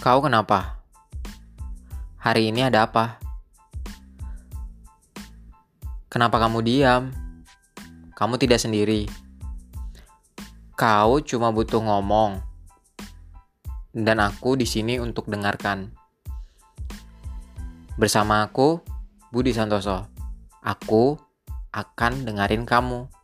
Kau kenapa? Hari ini ada apa? Kenapa kamu diam? Kamu tidak sendiri. Kau cuma butuh ngomong. Dan aku di sini untuk dengarkan. Bersama aku, Budi Santoso. Aku akan dengerin kamu.